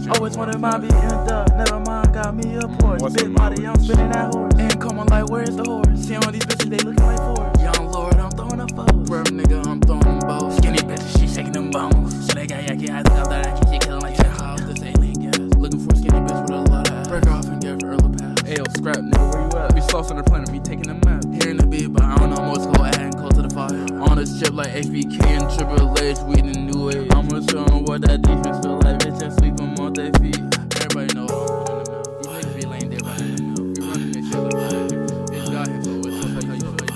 Always wanted my be in the, never mind, got me a Porsche. Big body, I'm spinning that horse. And come on like, where's the horse? See all these bitches, they looking like Forrest. Young Lord, I'm throwing up foes. Bro, nigga, I'm throwing them bows. Skinny bitches, she shaking them bones. So they got yucky eyes, got that action, she killing like that house. This alien gas. Looking for a skinny bitch with a lot of ass. Break off and give her early pass. Ayo, scrap, nigga, where you at? We sauce on the planet, me taking the map. Hearing the beat, but I don't know what's go ahead and close to the fire. On this chip like HBK and Triple H, we the new age. I'ma show 'em what that defense feel like, bitch, I sweep 'em off their feet. Everybody know I'm on the mill. These niggas be laying there right in the mill. We running this shit like that. It's got him, so it's just like how you do it.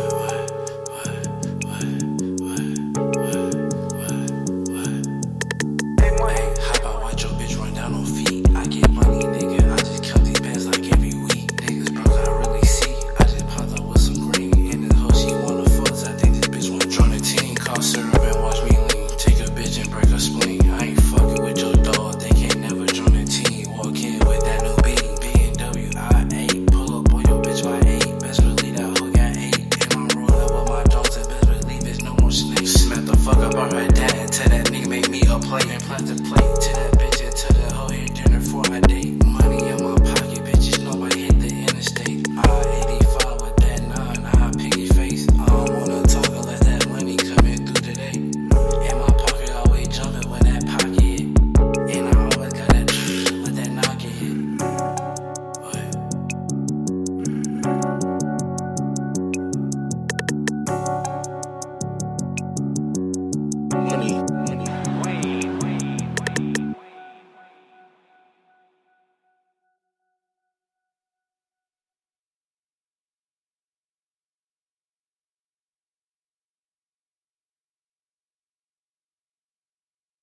Hey, how about watch your bitch run down on feet? I get money, nigga, I just count these bands like every week. Niggas broke, I really see. I just popped up with some green. And this hoe, she wanna fuss. I think this bitch wanna join the team. Call syrup and watch me lean. Take a bitch and break her spleen. I ain't fucking with your dog, they can't never join the team. Walk in with that new beat, BMW I8. Pull up on your bitch by 8. Best believe that hoe got 8. And I'm rolling up with my dogs, and best believe there's no more snakes. Smack the fuck up on her dad and tell that nigga make me a play and plastic plate.